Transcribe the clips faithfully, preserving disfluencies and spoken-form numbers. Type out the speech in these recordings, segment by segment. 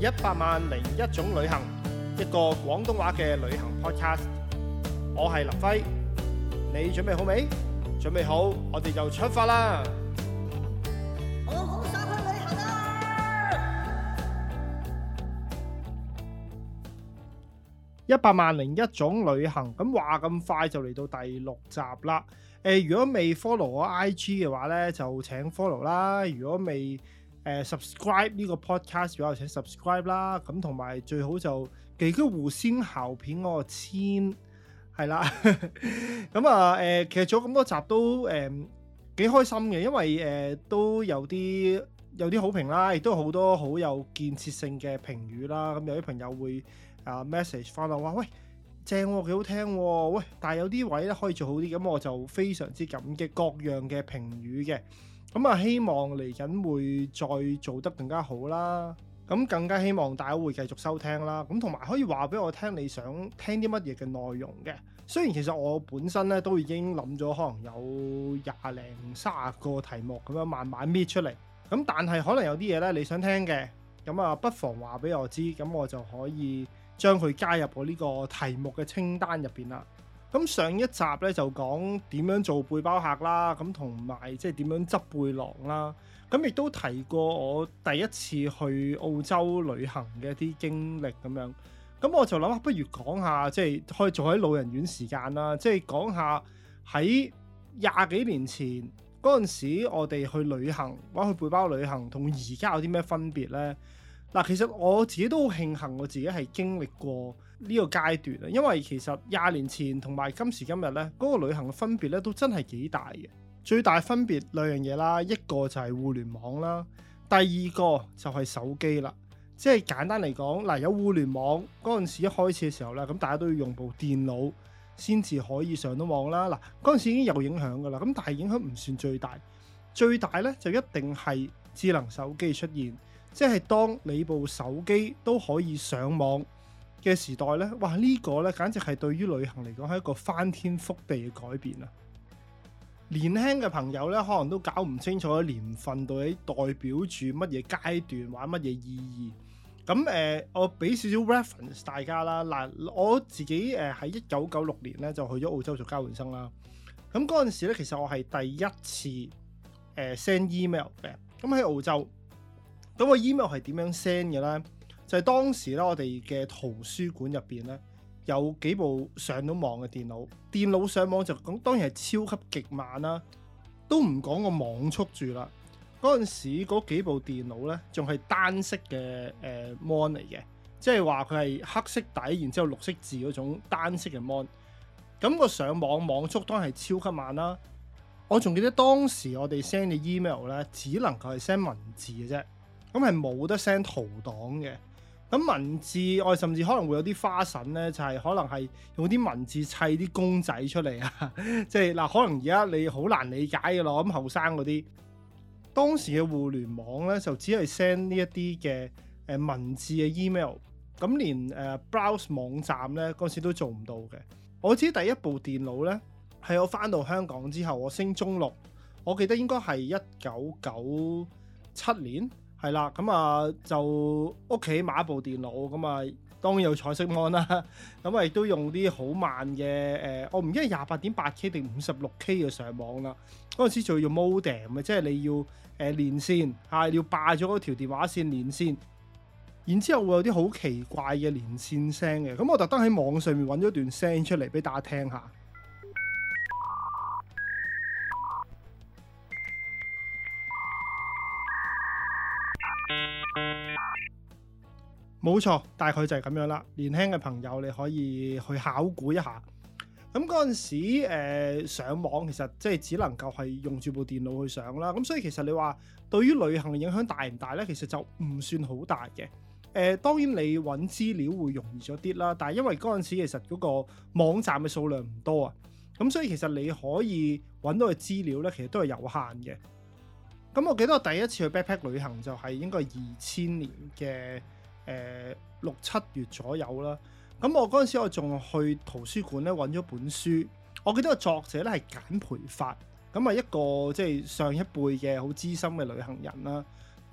一百萬零一種旅行，一個廣東話嘅旅行 podcast。我係林輝，你準備好未？準備好，我哋就出發啦！ 我好想去旅行啊！ 一百萬零一種旅行，咁話咁快就嚟到第六集啦。誒、呃，如果未 follow 我 I G 嘅話咧，就請 follow 啦。如果未誒、呃、subscribe 呢個 podcast 嘅話，就請 subscribe 啦。咁同埋最好就記得互先後片嗰個簽係啦。咁啊誒，其實做咗咁多集都誒幾、呃、開心嘅，因為誒、呃、都有啲有啲好評啦，亦都好多好有建設性嘅評語啦。咁有啲朋友會啊 message 翻我話喂，正喎，幾好聽喎，喂，但係有啲位咧可以做好啲，咁我就非常之感激各樣嘅評語嘅。咁啊，希望嚟緊會再做得更加好啦。咁更加希望大家會繼續收聽啦。咁同埋可以話俾我聽你想聽啲乜嘢嘅內容嘅。雖然其實我本身咧都已經諗咗可能有廿零三十個題目咁樣慢慢搣出嚟。咁但係可能有啲嘢咧你想聽嘅，咁啊不妨話俾我知，咁我就可以將佢加入我呢個題目嘅清單入邊啦。咁上一集咧就講點樣做背包客啦，咁同埋即係點樣執背囊啦。咁亦都提過我第一次去澳洲旅行嘅一啲經歷咁樣。咁我就諗，不如講下即係可以做喺老人院時間啦，即係講下喺廿幾年前嗰陣時，我哋去旅行或者去背包旅行，同而家有啲咩分別呢？嗱，其實我自己都好慶幸，我自己係經歷過呢個階段啊，因為其實廿年前同埋今時今日咧，嗰個旅行嘅分別咧都真係幾大嘅。最大分別兩樣嘢啦，一個就係互聯網啦，第二個就係手機啦。即係簡單嚟講，嗱，有互聯網嗰陣時一開始嘅時候咧，咁大家都要用部電腦先至可以上到網啦。嗱，嗰陣時已經有影響㗎啦，咁但係影響唔算最大，最大咧就一定係智能手機出現。即係當你部手機都可以上網嘅時代咧，哇！呢個咧簡直係對於旅行嚟講係一個翻天覆地嘅改變啊！年輕嘅朋友咧，可能都搞唔清楚年份到底代表住乜嘢階段，或者乜嘢意義。咁誒、呃，我俾少少 reference 大家啦。嗱，我自己誒喺一九九六年咧就去咗澳洲做交換生啦。咁嗰陣時咧，其實我係第一次誒 send email 嘅。咁喺澳洲。咁個 email 係點樣 send 嘅咧？就係、是、當時咧，我哋嘅圖書館入邊咧有幾部上到網嘅電腦，電腦上網就講當然係超級極慢啦，都唔講個網速住啦。嗰陣時嗰幾部電腦咧仲係單色嘅誒 mon 嚟嘅，即係話佢係黑色底，然之後綠色字嗰種單色嘅 mon。咁個上網網速當然係超級慢啦。我仲記得當時我哋 send 嘅 email 咧，只能夠係 send 文字嘅啫。咁係冇得 send 圖檔嘅。咁文字我哋甚至可能會有啲花臣咧，就係、是、可能係用啲文字砌啲公仔出嚟啊！即係嗱，可能而家你好難理解嘅咯。咁後生嗰啲當時嘅互聯網咧，就只係 send 呢一啲嘅誒文字嘅 email。咁連誒、呃、browse 網站咧嗰時都做唔到嘅。我知第一部電腦咧係我翻到香港之後，我升中六，我記得應該係一九九七年。係啦，咁啊就屋企買一部電腦，咁啊當然有彩色 mon 啦，咁啊亦都用啲好慢嘅誒、呃，我唔記得廿八點八 K 定五十六 K 嘅上網啦。嗰陣時仲要用 modem 嘅，即係你要誒、呃、連線嚇、啊，要霸咗嗰條電話線連線，然之後會有啲好奇怪嘅連線聲嘅。咁我特登喺網上面揾咗段聲出嚟俾大家聽下。冇錯，大概就係咁樣啦。年輕嘅朋友你可以去考古一下。咁嗰陣時、呃、上網其實即係只能夠係用住部電腦去上啦。咁所以其實你話對於旅行嘅影響大唔大呢？其實就唔算好大嘅。誒、呃、當然你揾資料會容易咗啲啦，但係因為嗰陣時其實嗰個網站嘅數量唔多啊，咁所以其實你可以揾到嘅資料呢，其實都係有限嘅。咁我記得我第一次去 backpack 旅行就係應該係二千年嘅誒六七月左右啦。咁我嗰陣時我仲去圖書館咧揾咗本書，我記得個作者咧係簡培發，咁啊一個即係上一輩嘅好資深嘅旅行人啦。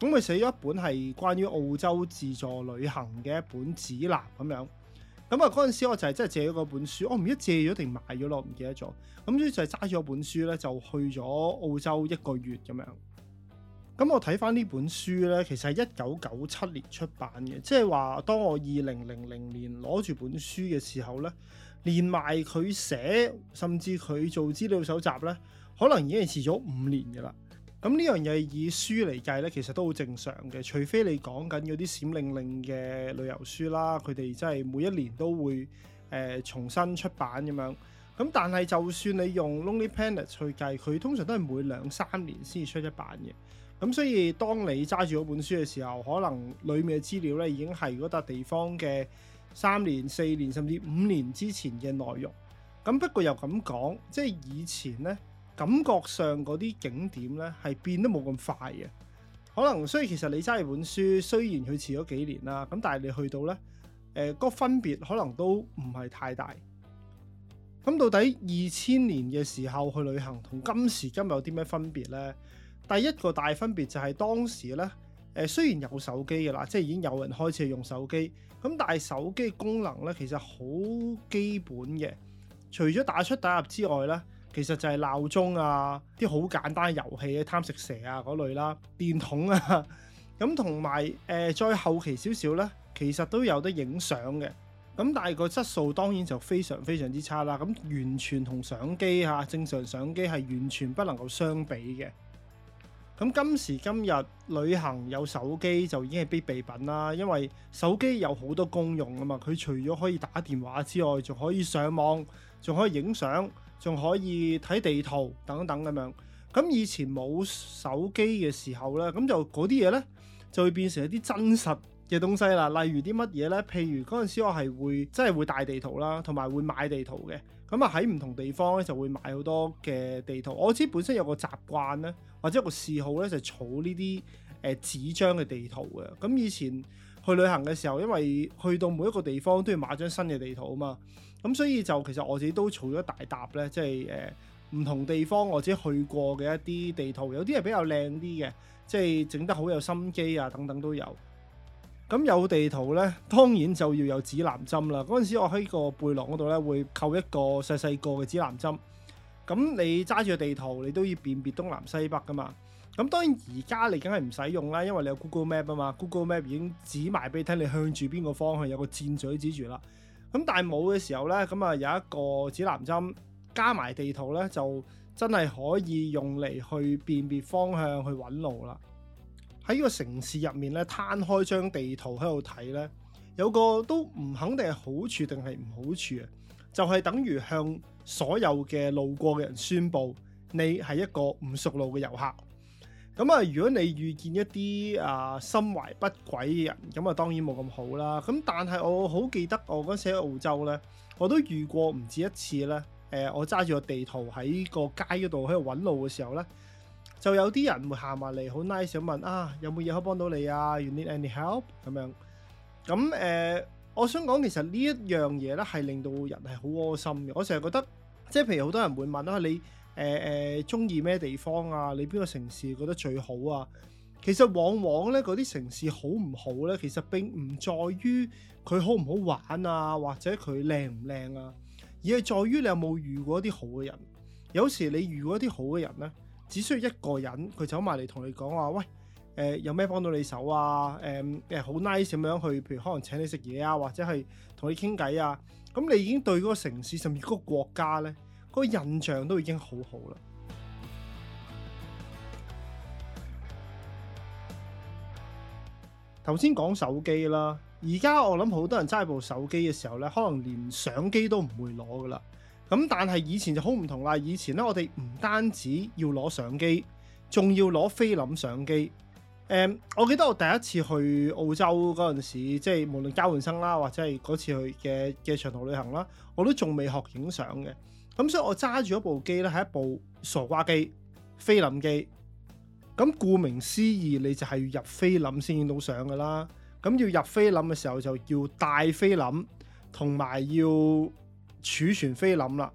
咁佢寫咗一本係關於澳洲自助旅行嘅一本指南咁樣。咁啊嗰陣時我就係真係借咗嗰本書，我唔記得借咗定買咗咯，唔記得咗。咁所以就係揸咗本書咧，就去咗澳洲一個月咁樣。咁我睇翻呢本書咧，其實係一九九七年出版嘅，即係話當我二零零零年攞住本書嘅時候咧，連埋佢寫，甚至佢做資料搜集咧，可能已經係遲咗五年嘅啦。咁呢樣嘢以書嚟計咧，其實都好正常嘅，除非你講緊嗰啲閃令令嘅旅遊書啦，佢哋真係每一年都會誒、呃、重新出版咁樣。咁但係就算你用 Lonely Planet 去計，佢通常都係每兩三年先至出一版嘅。咁所以當你揸住嗰本書嘅時候，可能裡面嘅資料咧已經係嗰笪地方嘅三年、四年甚至五年之前嘅內容。咁不過又咁講，即係以前咧感覺上嗰啲景點咧係變得冇咁快嘅。可能所以其實你揸住本書，雖然佢遲咗幾年啦，咁但係你去到咧，誒、呃、嗰個分別可能都唔係太大。咁到底二千年嘅時候去旅行同今時今日有啲咩分別咧？第一個大分別就係當時咧，誒、呃、雖然有手機嘅啦，即係已經有人開始用手機，咁但係手機功能咧其實好基本嘅，除咗打出打入之外咧，其實就係鬧鐘啊，啲好簡單遊戲嘅貪食蛇啊嗰類啦，電筒啊，咁同埋誒再後期少少咧，其實都有得影相嘅，咁但係個質素當然就非常非常之差啦，咁完全同相機嚇正常相機係完全不能夠相比嘅。咁今時今日旅行有手機就已經係必備品啦，因為手機有好多功用啊嘛，佢除咗可以打電話之外，仲可以上網，仲可以影相，仲可以睇地圖等等咁樣。咁以前冇手機嘅時候咧，咁就嗰啲嘢咧就會變成一啲真實嘅東西啦。例如啲乜嘢咧？譬如嗰陣時我係會真係會帶地圖啦，同埋會買地圖嘅。咁啊喺唔同地方咧就會買好多嘅地圖。我自己本身有個習慣咧，或者有個嗜好咧，就係儲呢啲誒紙張嘅地圖嘅。咁以前去旅行嘅時候，因為去到每一個地方都要買張新嘅地圖啊嘛，咁所以就其實我自己都儲咗大沓咧，即係誒唔同地方我自己去過嘅一啲地圖，有啲係比較靚啲嘅，即係整得好有心機啊，等等都有。咁有地圖咧，當然就要有指南針啦。嗰陣時我喺個背囊嗰度咧，會扣一個細細個嘅指南針。咁你揸住個地圖，你都要辨別東南西北噶嘛。咁當然而家你梗係唔使用啦，因為你有 Google Map 啊嘛。Google Map 已經指埋俾你聽，你向住邊個方向有個箭嘴指住啦。咁但係冇嘅時候咧，咁啊有一個指南針加埋地圖咧，就真係可以用嚟去辨別方向去揾路啦。喺個城市入面咧，攤開張地圖喺度睇咧，有個都唔肯定係好處定係唔好處啊！就係、是、等於向所有嘅路過嘅人宣佈，你係一個唔熟路嘅遊客。咁啊，如果你遇見一啲啊心懷不軌嘅人，咁啊當然冇咁好啦。咁但係我好記得我嗰時喺澳洲咧，我都遇過唔止一次咧。誒、呃，我揸住個地圖喺個街嗰度喺度揾路嘅時候咧，就有啲人會行埋嚟，好 nice 咁問啊，有冇嘢可以幫到你啊 ？You need any help？ 咁樣。咁誒、呃，我想講其實呢一樣嘢咧係令到人係好窩心嘅。我成日覺得，即係譬如好多人會問啊，你誒誒中意咩地方啊？你邊個城市覺得最好啊？其實往往咧嗰啲城市好唔好咧，其實並唔在於佢好唔好玩啊，或者佢靚唔靚啊，而係在於你有冇遇過一啲好嘅人。有時你遇過一啲好嘅人咧，只需要一個人，佢走埋嚟同你講話，喂，誒、呃、有咩幫到你手啊？誒誒好 nice 咁樣去，譬如可能請你食嘢啊，或者係同你傾偈啊。咁你已經對嗰個城市甚至嗰個國家咧，嗰、嗰個印象都已經好好啦。頭先講手機啦，而家我諗好多人揸部手機嘅時候咧，可能連相機都唔會攞噶啦。咁但係以前就好唔同啦，以前咧我哋唔單止要攞相機，仲要攞菲林相機。誒、嗯，我記得我第一次去澳洲嗰陣時，即係無論交換生啦，或者係嗰次去嘅嘅長途旅行啦，我都仲未學影相嘅。咁所以我揸住一部機咧，係一部傻瓜機，菲林機。咁顧名思義，你就係要入菲林先影到相噶啦。咁要入菲林嘅時候，就要帶菲林，同埋要儲存菲林啦。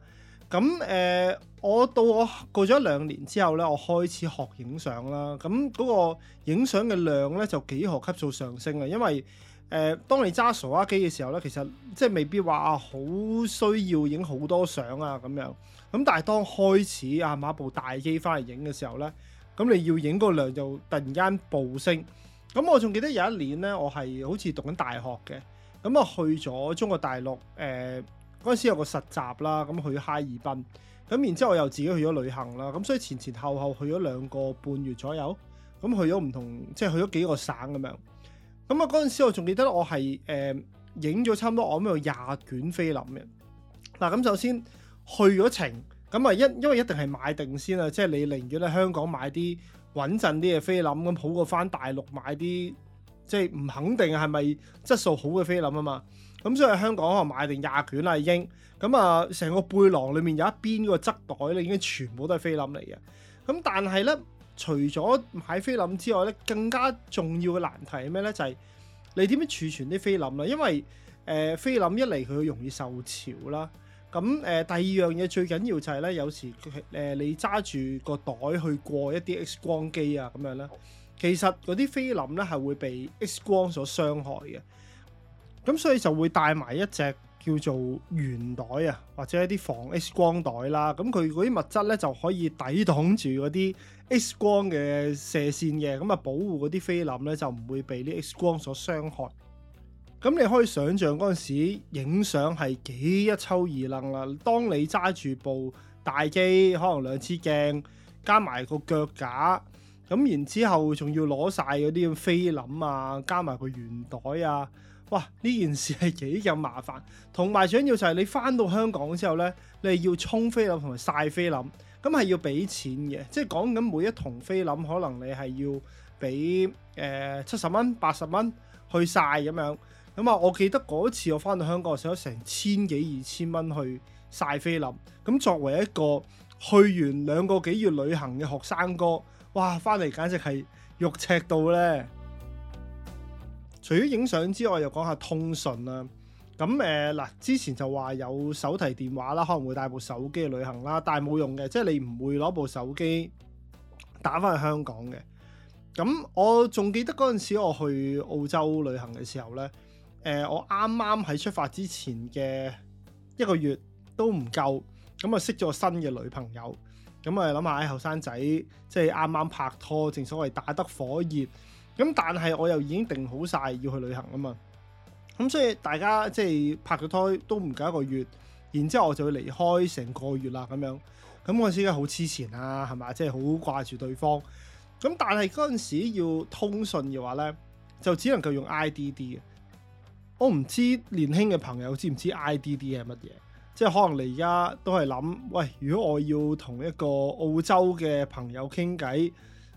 咁誒、呃，我到我過咗兩年之後咧，我開始學影相啦。咁嗰個影相嘅量咧就幾何級數上升啊，因為誒、呃，當你揸傻瓜機嘅時候咧，其實即係未必話啊好需要影好多相啊咁樣。咁但係當開始啊買部大機翻嚟影嘅時候咧，咁你要影個量就突然間暴升。咁我仲記得有一年咧，我係好似讀緊大學嘅，咁啊去咗中國大陸誒嗰陣時有個實習啦，咁去哈爾濱，咁然之後我又自己去咗旅行啦，咁所以前前後後去咗兩個半月左右，咁去咗唔同即係去咗幾個省咁樣。咁啊嗰陣時我仲記得我係誒影咗差唔多我諗有廿卷菲林嘅。嗱咁首先去咗程，咁啊一因為一定係買定先啦，即係你寧願喺香港買啲穩陣啲嘅菲林，咁好過翻大陸買啲即係唔肯定係咪質素好嘅菲林啊嘛。咁所以喺香港可能買定廿卷啦已經，咁啊成個背囊裡面有一邊個側袋咧已經全部都係菲林嚟嘅。咁但係咧，除咗買菲林之外咧，更加重要嘅難題係咩咧？就係、是、你點樣儲存啲菲林啦？因為誒、呃、菲林一嚟佢容易受潮啦。咁誒、呃、第二樣嘢最緊要就係咧，有時誒、呃、你揸住個袋去過一啲 X 光機啊咁樣咧，其實嗰啲菲林咧係會被 X 光所傷害嘅。咁所以就會帶埋一隻叫做圓袋啊，或者一啲防 X 光袋啦。咁佢嗰啲物質咧就可以抵擋住嗰啲 X 光嘅射線嘅，咁啊保護嗰啲菲林咧就唔會被啲 X 光所傷害。咁你可以想像嗰陣時影相係幾一抽二楞啦。當你揸住部大機，可能兩支鏡加埋個腳架，咁然之後仲要攞晒嗰啲菲林啊，加埋個圓袋啊，哇！呢件事係幾咁麻煩。同埋最緊要就係你翻到香港之後咧，你係要沖菲林同埋曬菲林，咁係要俾錢嘅。即係講緊每一筒菲林，可能你係要俾誒七十蚊、八十蚊去曬咁樣。咁啊，我記得嗰次我翻到香港，我使咗成千幾二千蚊去曬菲林。咁作為一個去完兩個幾月旅行嘅學生哥，哇！翻嚟簡直係肉赤到咧。除咗影相之外，又講下通訊啦。咁誒嗱，之前就話有手提電話啦，可能會帶部手機去旅行啦，但係冇用嘅，即係你唔會攞部手機打翻去香港嘅。咁我仲記得嗰陣時我去澳洲旅行嘅時候咧。誒、呃，我啱啱喺出發之前嘅一個月都唔夠，咁啊識咗個新嘅女朋友，咁啊諗下喺後生仔，即係啱啱拍拖，正所謂打得火熱，咁但係我又已經定好晒要去旅行啊嘛，咁所以大家即係拍咗拖都唔夠一個月，然之後我就會離開成個月啦咁樣，咁嗰陣時梗係好黐纏啦，係咪？即係好掛住對方，咁但係嗰陣時要通訊嘅話咧，就只能夠用 I D D 嘅。我唔知年輕嘅朋友知唔知 I D D 係乜嘢？即係可能你而家都係諗，喂，如果我要同一個澳洲嘅朋友傾偈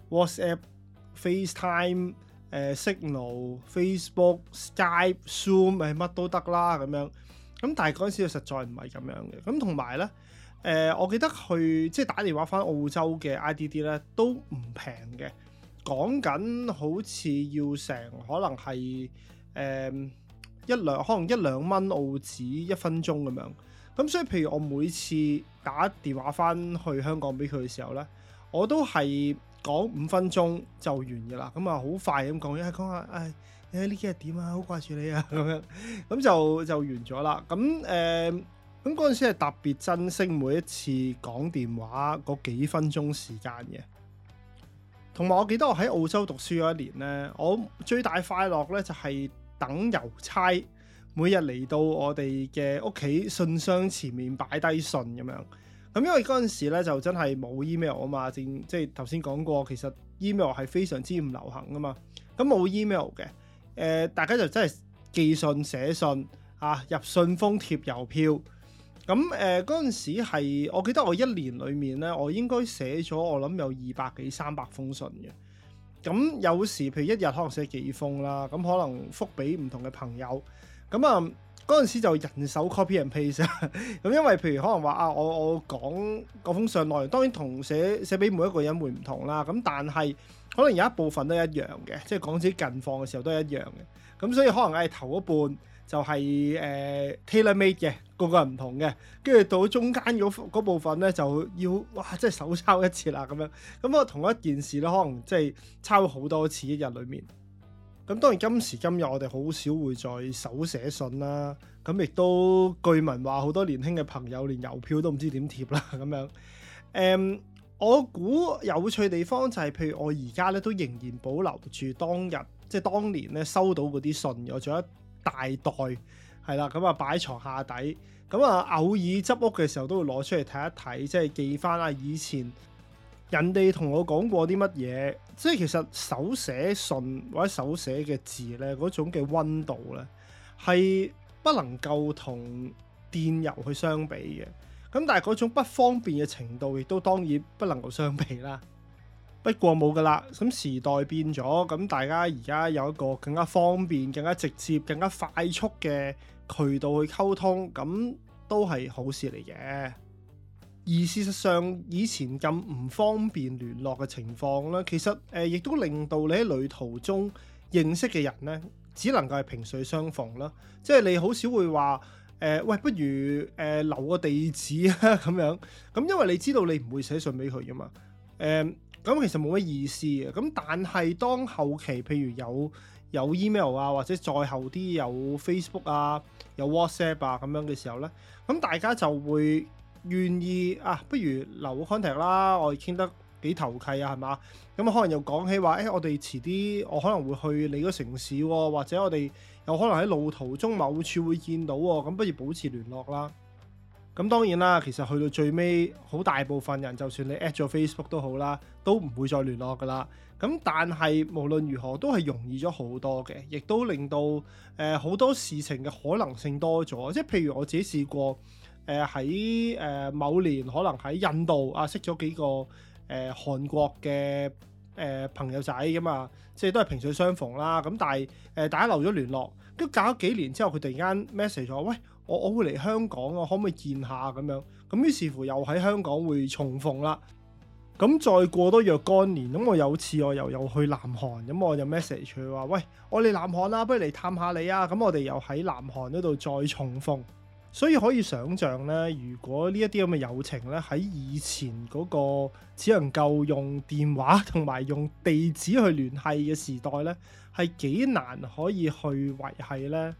，WhatsApp、FaceTime、呃、Signal、Facebook、Skype、Zoom 係乜都得啦咁樣。咁但係嗰陣時實在唔係咁樣嘅。咁同埋咧，誒、呃，我記得去即係打電話翻澳洲嘅 I D D 咧都唔平嘅，講緊好似要成可能係誒。呃一兩可能一兩蚊澳紙一分鐘咁樣，咁所以譬如我每次打電話翻去香港俾佢嘅時候咧，我都係講五分鐘就完嘅啦，咁啊好快咁講，一係講下誒誒呢幾日點啊，好掛住你啊咁樣，咁就就完咗啦。咁誒咁嗰陣時係特別珍惜每一次講電話嗰幾分鐘時間嘅。同埋我記得我喺澳洲讀書嗰一年咧，我最大快樂咧就係、是等郵差每日嚟到我哋嘅屋企信箱前面擺低信咁樣，咁因為嗰陣時咧就真係冇 email 啊嘛，正即係頭先講過，其實 email 係非常之唔流行噶嘛，咁冇 email 嘅，誒、呃、大家就真係寄信寫信啊，入信封貼郵票，咁誒嗰陣時係我記得我一年裡面咧，我應該寫咗我諗有二百幾三百封信嘅。咁有時譬如一日可能寫幾封啦，咁可能覆俾唔同嘅朋友，咁啊嗰陣時就人手 copy and paste 咁因為譬如可能話啊，我我講嗰封信內容，當然同寫寫俾每一個人會唔同啦，咁但係可能有一部分都一樣嘅，即係講自己近況嘅時候都係一樣嘅，咁所以可能係頭一半就係、是、誒、呃、tailor made 嘅，個個人唔同嘅。跟住到中間嗰部分咧，就要哇，即係手抄一次啦咁樣。咁我同一件事咧，可能即係抄好多次一日裡面。咁當然今時今日我哋好少會再手寫信啦。咁亦都據聞話好多年輕嘅朋友連郵票都唔知點貼啦咁樣。誒、嗯，我估有趣地方就係、是，譬如我而家咧都仍然保留住當日即係當年咧收到嗰啲信，我仲有一大袋係啦，咁啊擺喺床下底。咁啊偶爾執屋嘅時候都會攞出嚟睇一睇，即係記翻啊以前人哋同我講過啲乜嘢。即係其實手寫信或者手寫嘅字咧，嗰種嘅溫度咧係不能夠同電郵去相比嘅。咁但係嗰種不方便嘅程度亦都當然不能夠相比啦。不過冇噶啦，咁時代變咗，咁大家而家有一個更加方便、更加直接、更加快速嘅渠道去溝通，咁都係好事嚟嘅。而事實上，以前咁唔方便聯絡嘅情況咧，其實誒亦、呃、都令到你喺旅途中認識嘅人咧，只能夠係萍水相逢啦。即係你好少會話誒、呃，喂，不如誒、呃、留個地址啊咁樣。咁因為你知道你唔會寫信俾佢噶嘛。誒、呃，咁其實冇乜意思嘅。咁但係當後期譬如有有 email 啊，或者再後啲有 Facebook 啊、有 WhatsApp 啊咁樣嘅時候咧，咁大家就會願意啊，不如留個 contact 啦，我哋傾得幾投契啊，係嘛？咁可能又講起話，誒、欸，我哋遲啲我可能會去你個城市喎、哦，或者我哋有可能喺路途中某處會見到喎、哦，咁不如保持聯絡啦。咁當然啦，其實去到最尾，好大部分人就算你 at 咗 Facebook 都好啦，都唔會再聯絡噶啦。咁但係無論如何都係容易咗好多嘅，亦都令到誒好、呃、多事情嘅可能性多咗。即係譬如我自己試過。誒喺誒某年可能喺印度啊識咗幾個誒、呃、韓國嘅誒、呃、朋友仔咁啊，即係都係萍水相逢啦。咁但係誒、呃、大家留咗聯絡，跟住隔咗幾年之後，佢突然間 message 咗，喂，我我會嚟香港啊，可唔可以見下咁樣？咁於是乎又喺香港會重逢啦。咁再過多若干年，咁我有次我又有去南韓，咁我就 message 佢話，喂，我嚟南韓啦，不如嚟探下你啊。咁我哋又喺南韓嗰度再重逢。所以可以想像咧，如果呢一啲咁嘅友情咧，喺以前嗰個只能夠用電話同埋用地址去聯繫嘅時代咧，係幾難可以去維繫咧。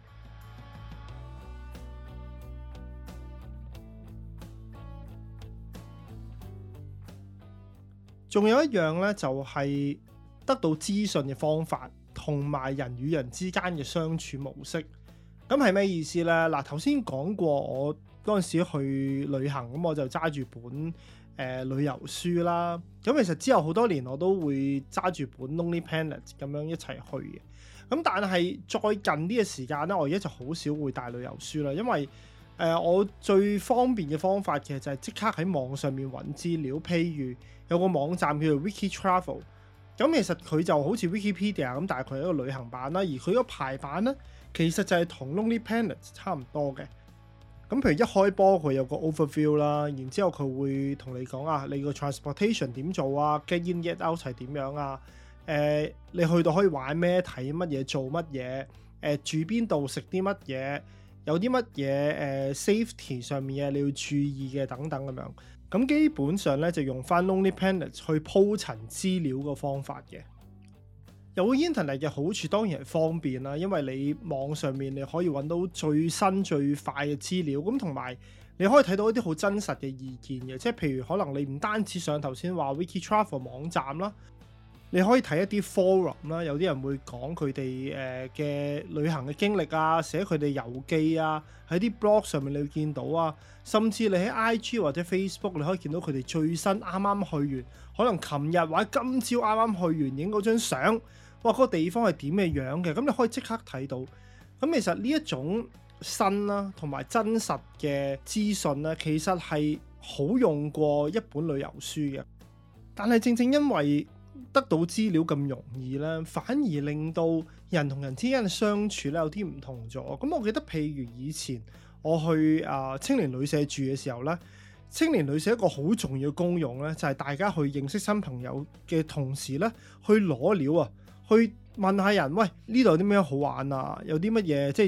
仲有一樣咧，就係得到資訊嘅方法，同埋人與人之間嘅相處模式。咁係咩意思呢？嗱，頭先講過，我嗰陣時去旅行，咁我就揸住本誒、呃、旅遊書啦。咁其實之後好多年我都會揸住本 Lonely Planet 咁樣一齊去嘅。咁但係再近啲嘅時間咧，我而家就好少會帶旅遊書啦，因為誒、呃、我最方便嘅方法其實就係即刻喺網上面揾資料。譬如有個網站叫做 Wiki Travel， 咁其實佢就好似 Wikipedia 咁，但係佢係一個旅行版啦，而佢個排版咧，其實就係同 Lonely Planet 差唔多嘅。咁譬如一開波佢有個 overview 啦，然之後佢會同你講啊，你個 transportation 點做啊 ，get in get out 係點樣啊？誒、呃，你去到可以玩咩？睇乜嘢？做乜嘢？誒、呃，住邊度？食啲乜嘢？有啲乜嘢誒 safety 上面嘅你要注意嘅等等咁樣。咁基本上咧就用翻 Lonely Planet 去鋪陳資料個方法嘅。有 internet 嘅好處當然係方便啦，因為你網上面你可以揾到最新最快嘅資料，咁同埋你可以睇到一啲好真實嘅意見嘅，即係譬如可能你唔單止上頭先話 Wiki Travel 網站啦，你可以睇一啲 forum 啦，有啲人會講佢哋誒嘅旅行嘅經歷啊，寫佢哋遊記啊，喺啲 blog 上面你會見到啊，甚至你喺 I G 或者 Facebook 你可以見到佢哋最新啱啱去完，可能琴日或者今朝啱啱去完影嗰張相。哇！嗰個地方係點嘅樣嘅，咁你可以即刻睇到。咁其實呢一種新啦，同埋真實嘅資訊咧，其實係好用過一本旅遊書嘅。但係正正因為得到資料咁容易咧，反而令到人同人之間嘅相處咧有啲唔同咗。咁我記得譬如以前我去啊、呃、青年旅社住嘅時候咧，青年旅社一個好重要嘅功用咧，就係、是、大家去認識新朋友嘅同時咧，去攞料啊！去問下人，喂，呢度有啲咩好玩啊？有啲乜嘢即係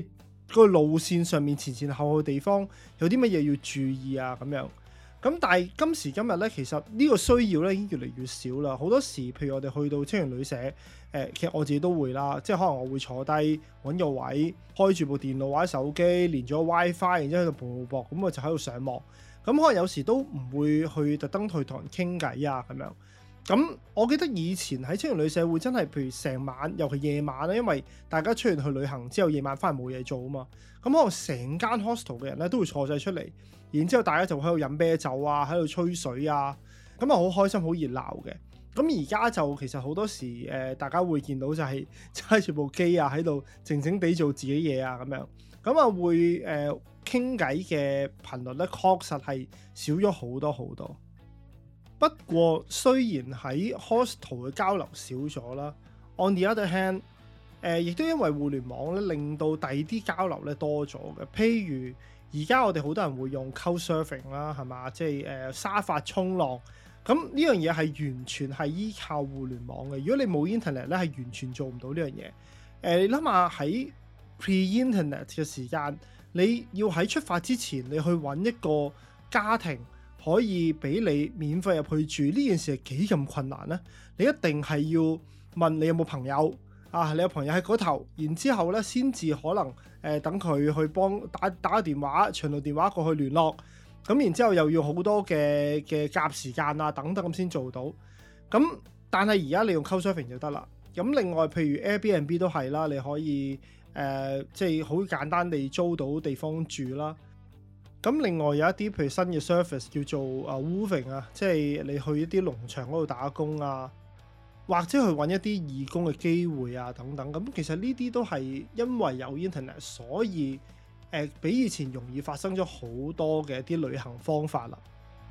個路線上面前前後後嘅地方有啲乜嘢要注意啊咁樣。咁但係今時今日咧，其實呢個需要咧已經越嚟越少啦。好多時，譬如我哋去到青年旅社，誒、呃，其實我自己都會啦，即係可能我會坐低揾個位，開住部電腦或者手機，連咗 WiFi，然之後喺度播播，咁我就喺度上網。咁可能有時都唔會去特登去同人傾偈啊咁樣。咁我記得以前喺青年旅社會真係，譬如成晚，尤其夜晚咧，因為大家出完去旅行之後，夜晚翻嚟冇嘢做啊嘛。咁可能成間 hostel 嘅人咧都會坐晒出嚟。然之後大家就喺度飲啤酒啊，喺度吹水啊，咁啊好開心好熱鬧嘅。咁而家就其實好多時誒、呃，大家會見到就係揸住部機啊，喺度靜靜地做自己嘢啊咁樣。咁啊會誒傾偈嘅頻率咧，確實係少咗好多好多。不過雖然喺 hostel 嘅交流少咗啦 ，on the other hand，誒、呃、亦都因為互聯網咧，令到第二啲交流咧多咗嘅，譬如。而家我哋好多人會用 Couchsurfing 啦，係嘛？即係誒、呃、沙發衝浪，咁呢樣嘢係完全係依靠互聯網嘅。如果你冇 internet 咧，係完全做唔到呢樣嘢。誒、呃，你諗下喺 pre-internet 嘅時間，你要喺出發之前，你去揾一個家庭可以俾你免費入去住，呢件事係幾咁困難呢？你一定係要問你有冇朋友啊？你有朋友喺嗰頭，然之後咧先至可能。誒、呃、等佢去幫打打個電話長途電話過去聯絡，咁然之後又要好多嘅嘅夾時間啊等等咁先做到。咁但係而家你用 Couchsurfing 就得啦。咁另外譬如 Airbnb 都係啦，你可以誒即係好簡單地租到地方住啦。咁另外有一啲譬如新嘅 service 叫做啊 Woofing 啊，即係你去一啲農場嗰度打工啊。或者去揾一啲義工嘅機會啊，等等咁，其實呢啲都係因為有 internet，所以誒、呃、比以前容易發生咗好多嘅一啲旅行方法啦。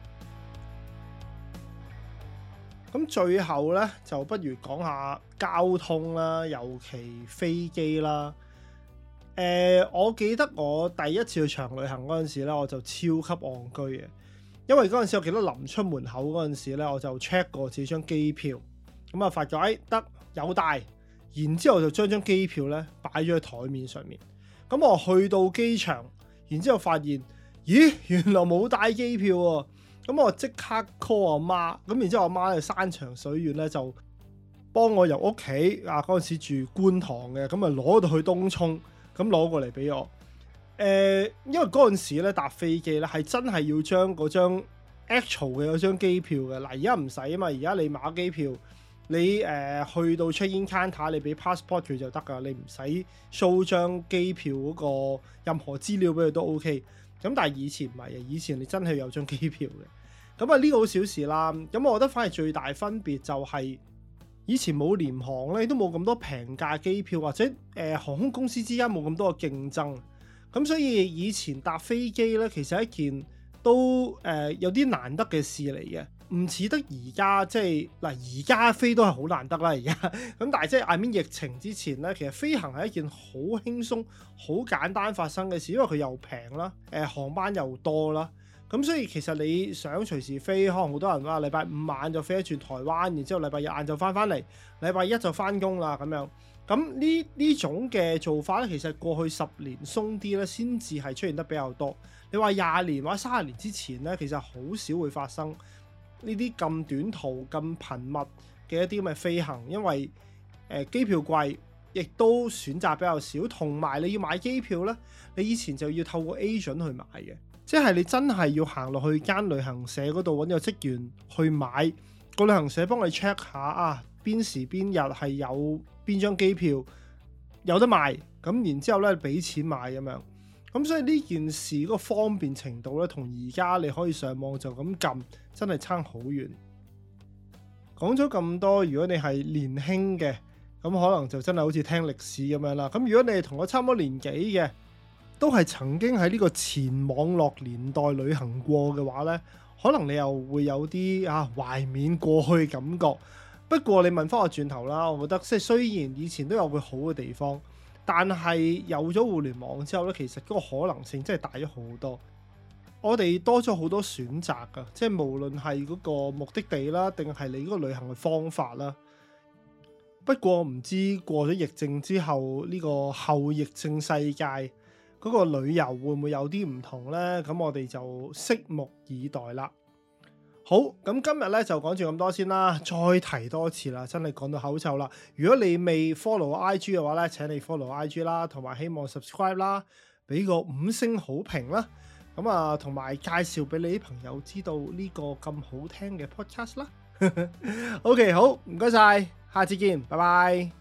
咁最後呢，就不如講下交通啦，尤其飛機啦。誒、呃，我記得我第一次去長旅行嗰陣時咧，我就超級戇居嘅，因為嗰陣時我記得臨出門口嗰陣時咧，我就 check 過自己張機票。咁啊，發覺誒得有帶，然之後就將張機票咧擺咗喺台面上面。咁我去到機場，然之後發現，咦，原來冇帶機票喎。咁我即刻 call 我媽，咁然之後我媽咧山長水遠咧就幫我由屋企啊嗰陣時住觀塘嘅，咁啊攞到去東涌，咁攞過嚟俾我。誒、呃，因為嗰陣時咧搭飛機咧係真係要將嗰張 actual 嘅嗰張機票嘅，嗱而家唔使啊嘛，而家你買機票。你誒、呃、去到 check-in counter，你俾 passport 佢就得㗎，你唔使 show 張機票嗰個任何資料俾佢都 OK。咁但係以前唔係啊，以前你真係有張機票嘅。咁啊呢個好小事啦。咁我覺得反而最大分別就係以前冇廉航咧，都冇咁多平價機票，或者誒、呃、航空公司之間冇咁多嘅競爭。咁所以以前搭飛機咧，其實係一件都誒、呃、有啲難得嘅事嚟嘅。唔似得而家即係嗱，而家飛都係好難得啦。而家咁，但係即係 I mean 疫情之前咧，其實飛行係一件好輕鬆、好簡單發生嘅事，因為佢又平啦，誒、呃、航班又多啦。咁所以其實你想隨時飛，可能好多人話禮拜五晚就飛一轉台灣，然之後禮拜日晏晝翻翻嚟，禮拜一就翻工啦咁樣。咁呢呢種嘅做法咧，其實過去十年鬆啲咧，先至係出現得比較多。你話廿年或者三十年之前咧，其實好少會發生。呢啲咁短途咁頻密嘅一啲咁嘅飛行，因為誒、呃、機票貴，亦都選擇比較少，同埋你要買機票咧，你以前就要透過 agent 去買嘅，即係你真係要行落去間旅行社嗰度揾個職員去買，個旅行社幫你 check 下啊，邊時邊日係有邊張機票有得賣，咁然之後咧俾錢買咁樣。咁所以呢件事嗰個方便程度咧，同而家你可以上網就咁撳，真係差好遠。講咗咁多，如果你係年輕嘅，咁可能就真係好似聽歷史咁樣啦。咁如果你係同我差唔多年紀嘅，都係曾經喺呢個前網絡年代旅行過嘅話呢，可能你又會有啲啊懷緬過去嘅感覺。不過你問翻我轉頭啦，我覺得即係雖然以前都有個好嘅地方。但係有咗互聯網之後咧，其實嗰個可能性真係大咗好多。我哋多咗好多選擇㗎，即係無論係嗰個目的地啦，定係你嗰個旅行嘅方法啦。不過唔知過咗疫症之後，呢個後疫症世界嗰個旅遊會唔會有啲唔同呢？咁我哋就拭目以待啦。好，咁今日咧就講住咁多先啦，再提多次啦，真係講到口臭啦。如果你未 follow 我 I G 嘅話咧，請你 follow 我 I G 啦，同埋希望 subscribe 啦，俾個五星好評啦。咁啊，同埋介紹俾你啲朋友知道呢個咁好聽嘅 podcast 啦。OK， 好，唔該晒，下次見，拜拜。